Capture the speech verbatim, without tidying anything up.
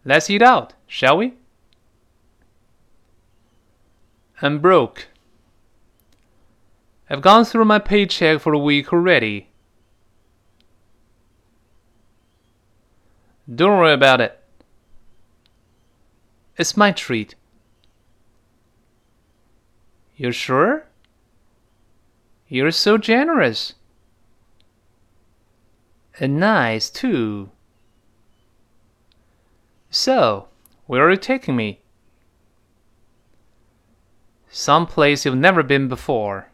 Let's eat out, shall we? I'm broke. I've gone through my paycheck for the week already. Don't worry about it. It's my treat. You're sure? You're so generous. And nice, too. So, where are you taking me? Some place you've never been before.